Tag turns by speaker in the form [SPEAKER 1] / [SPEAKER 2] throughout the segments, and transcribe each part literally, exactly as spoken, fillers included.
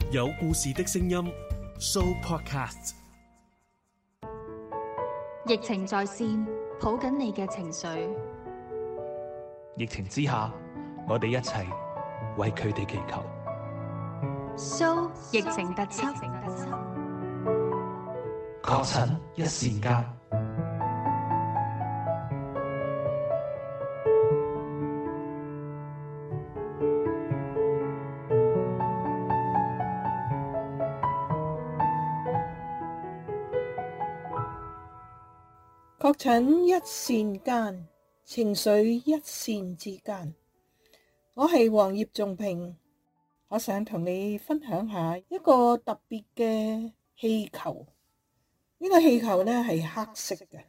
[SPEAKER 1] 有故事的聲音 Show Podcast。
[SPEAKER 2] 疫情在線，抱緊你嘅情緒。
[SPEAKER 3] 疫情之下，我哋一齊為佢哋祈求。
[SPEAKER 2] Show 疫情特輯，
[SPEAKER 3] 確診一線間。
[SPEAKER 4] 確診一線間，情緒一線之間。我係黃葉仲平，我想同你分享下一個特別嘅氣球。呢個氣球呢係黑色嘅。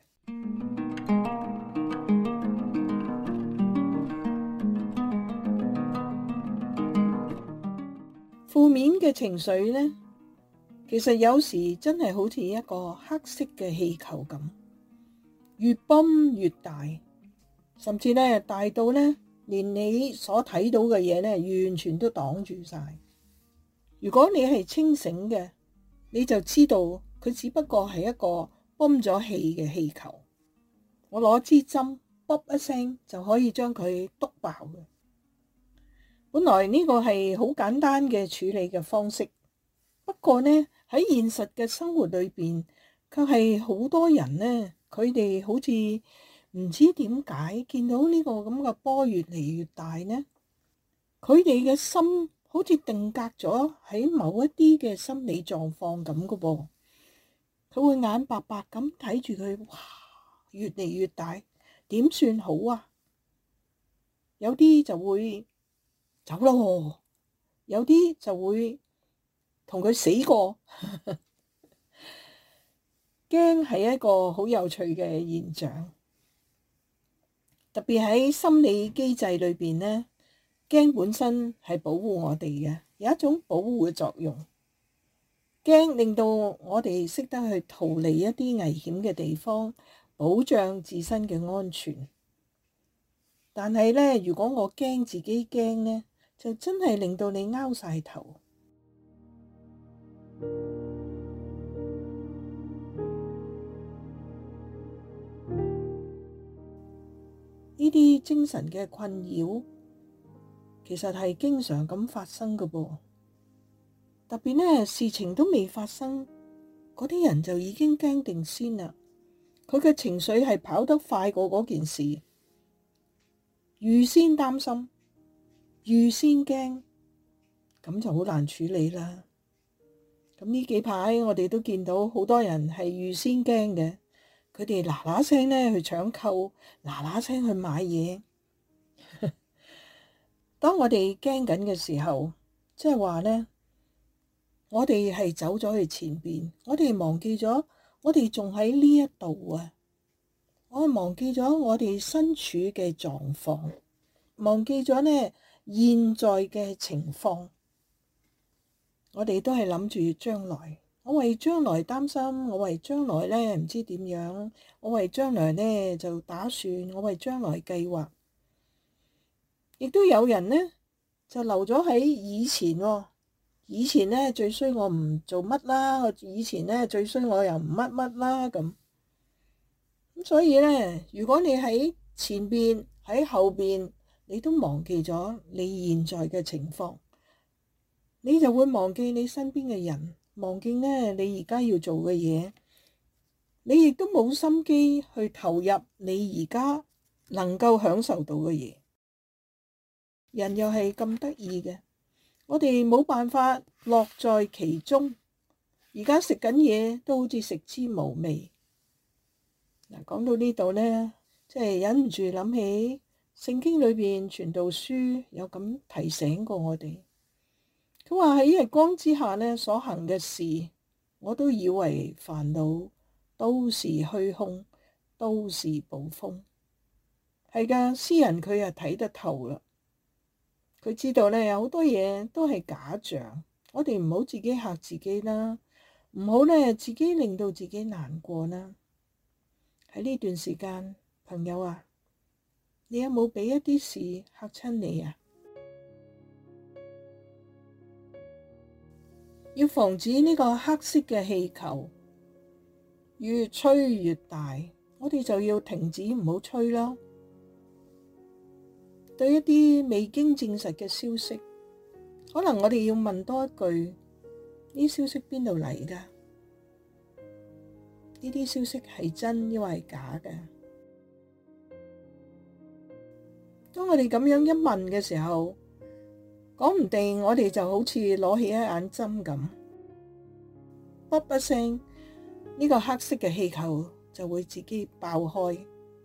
[SPEAKER 4] 負面嘅情緒呢，其實有時真係好似一個黑色嘅氣球咁。越泵越大，甚至咧大到咧，連你所睇到嘅嘢咧，完全都擋住晒。如果你係清醒嘅，你就知道佢只不過係一個泵咗氣嘅氣球。我攞支針，卜一聲就可以將佢篤爆嘅。本來呢個係好簡單嘅處理嘅方式，不過呢喺現實嘅生活裏邊，卻係好多人呢。佢哋好似唔知點解見到呢個咁嘅波越嚟越大呢？佢哋嘅心好似定格咗喺某一啲嘅心理狀況咁嘅噃，佢會眼白白咁睇住佢，哇，越嚟越大，點算好啊？有啲就會走咯，有啲就會同佢死過。驚係一個好有趣嘅現象，特別喺心理機制裏邊呢，驚本身係保護我哋嘅，有一種保護嘅作用。驚令到我哋識得去逃離一啲危險嘅地方，保障自身嘅安全。但係呢，如果我驚自己驚呢，就真係令到你拗晒頭。呢啲精神嘅困擾，其實係經常咁發生㗎噃。特別呢，事情都未發生，嗰啲人就已經驚定先啦。佢嘅情緒係跑得快過嗰件事，預先擔心，預先驚，咁就好難處理啦。咁呢幾排我哋都見到好多人係預先驚嘅。佢哋嗱嗱聲咧去搶購，嗱嗱聲去買嘢。當我哋驚緊嘅時候，即係話咧，我哋係走咗去前邊，我哋忘記咗，我哋仲喺呢一度啊！我忘記咗我哋身處嘅狀況，忘記咗咧現在嘅情況。我哋都係諗住將來。我為將來擔心，我為將來咧唔知點樣，我為將來咧就打算，我為將來計劃。亦都有人呢，就留咗喺以前喎，以前咧最衰我唔做乜啦，我以前咧最衰我又唔乜乜啦咁。咁所以咧，如果你喺前邊喺後邊，你都忘記咗你現在嘅情況，你就會忘記你身邊嘅人。忘記呢，你而家要做嘅嘢，你亦都冇心機去投入你而家能夠享受到嘅嘢。人又係咁得意嘅，我哋冇辦法樂在其中。而家食緊嘢都好似食之無味。嗱，講到呢度呢，即係忍唔住諗起聖經裏邊傳道書有咁提醒過我哋。佢話喺日光之下呢，所行嘅事，我都以為煩惱，都是虛空，都是捕風。係噶，詩人佢又睇得透啦。佢知道呢，有好多嘢都係假象，我哋唔好自己嚇自己啦，唔好呢自己令到自己難過啦。喺呢段時間，朋友啊，你有冇俾一啲事嚇親你啊？ 要防止呢個黑色嘅氣球越吹越大，我哋就要停止唔好吹啦。對一啲未經證實嘅消息，可能我哋要問多一句：呢消息邊度嚟㗎？呢啲消息係真抑或係假嘅？當我哋咁樣一問嘅時候，講唔定我哋就好似攞起一眼針咁，卜一聲，呢個黑色嘅氣球就會自己爆開。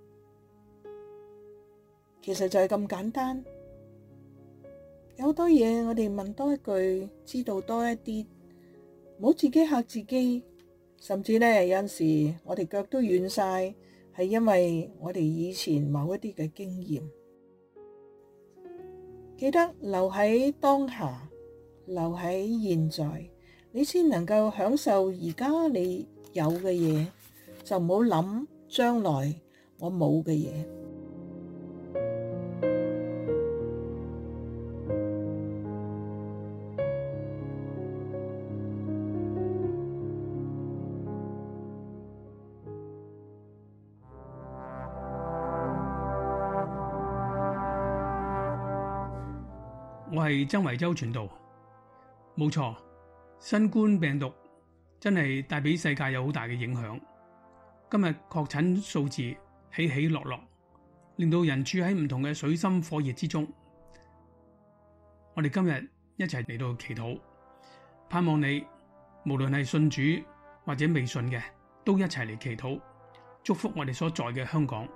[SPEAKER 4] 其實就係咁簡單，有好多嘢我哋問多一句，知道多一啲，唔好自己嚇自己。甚至呢，有陣時我哋腳都軟晒，係因為我哋以前某一啲嘅經驗。記得留喺當下，留喺現在，你先能夠享受而家你有嘅嘢，就唔好諗將來我冇嘅嘢。
[SPEAKER 5] 我係曾維洲傳道，冇錯，新冠病毒真係帶俾世界有好大嘅影響。今日確診數字起起落落，令到人處喺唔同嘅水深火熱之中。我哋今日一齊嚟到祈禱，盼望你無論係信主或者未信嘅，都一齊嚟祈禱，祝福我哋所在嘅香港。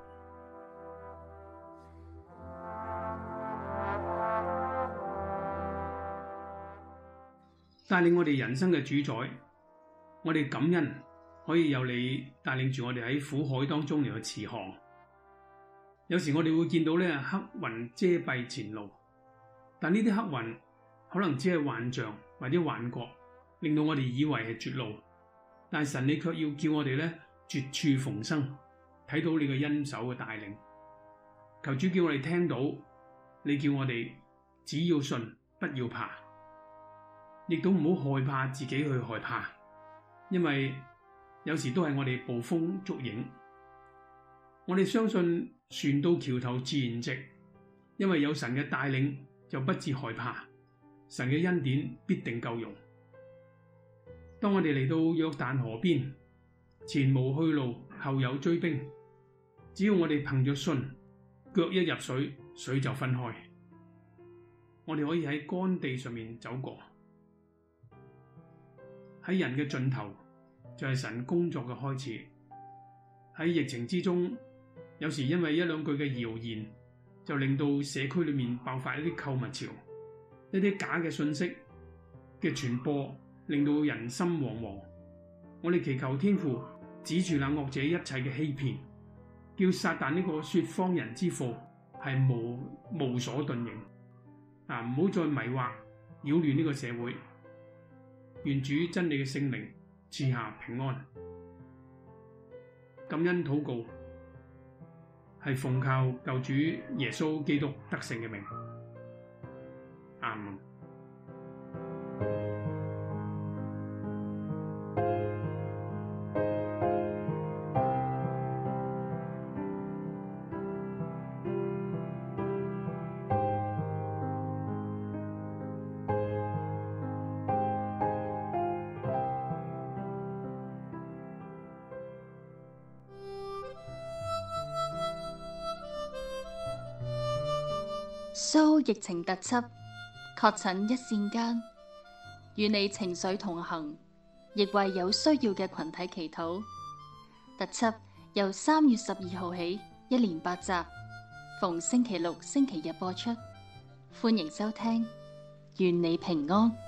[SPEAKER 5] 帶領我哋人生嘅主宰，我哋感恩可以有你帶領住我哋喺苦海當中嚟去持航。有時我哋會見到咧黑雲遮蔽前路，但呢啲黑雲可能只係幻象或者幻覺，令到我哋以為係絕路。但神你卻要叫我哋咧絕處逢生，睇到你嘅恩手嘅帶領。求主叫我哋聽到，你叫我哋只要信，不要怕。亦都唔好害怕自己去害怕，因為有時都係我哋捕風捉影。我哋相信船到橋頭自然直，因為有神嘅帶領就不致害怕，神嘅恩典必定夠用。當我哋嚟到約旦河邊，前無去路，後有追兵，只要我哋憑着信，腳一入水，水就分開，我哋可以喺乾地上面走過。喺人嘅盡頭就係神工作嘅開始。喺疫情之中，有時因為一兩句嘅謠言，就令到社區裏面爆發一啲購物潮，一啲假嘅信息嘅傳播，令到人心惶惶。我哋祈求天父指住那惡者一切嘅欺騙，叫撒旦呢個說謊人之父係無無所遁形。啊，唔好再迷惑擾亂呢個社會。願主真理嘅聖靈賜下平安。感恩禱告係奉靠救主耶穌基督得勝嘅名。阿門。
[SPEAKER 2] 蘇疫情特輯，確診一線間，與你情緒同行，亦為有需要嘅群體祈禱。特輯由三月十二號起，一連八集，逢星期六、星期日播出，歡迎收聽，願你平安。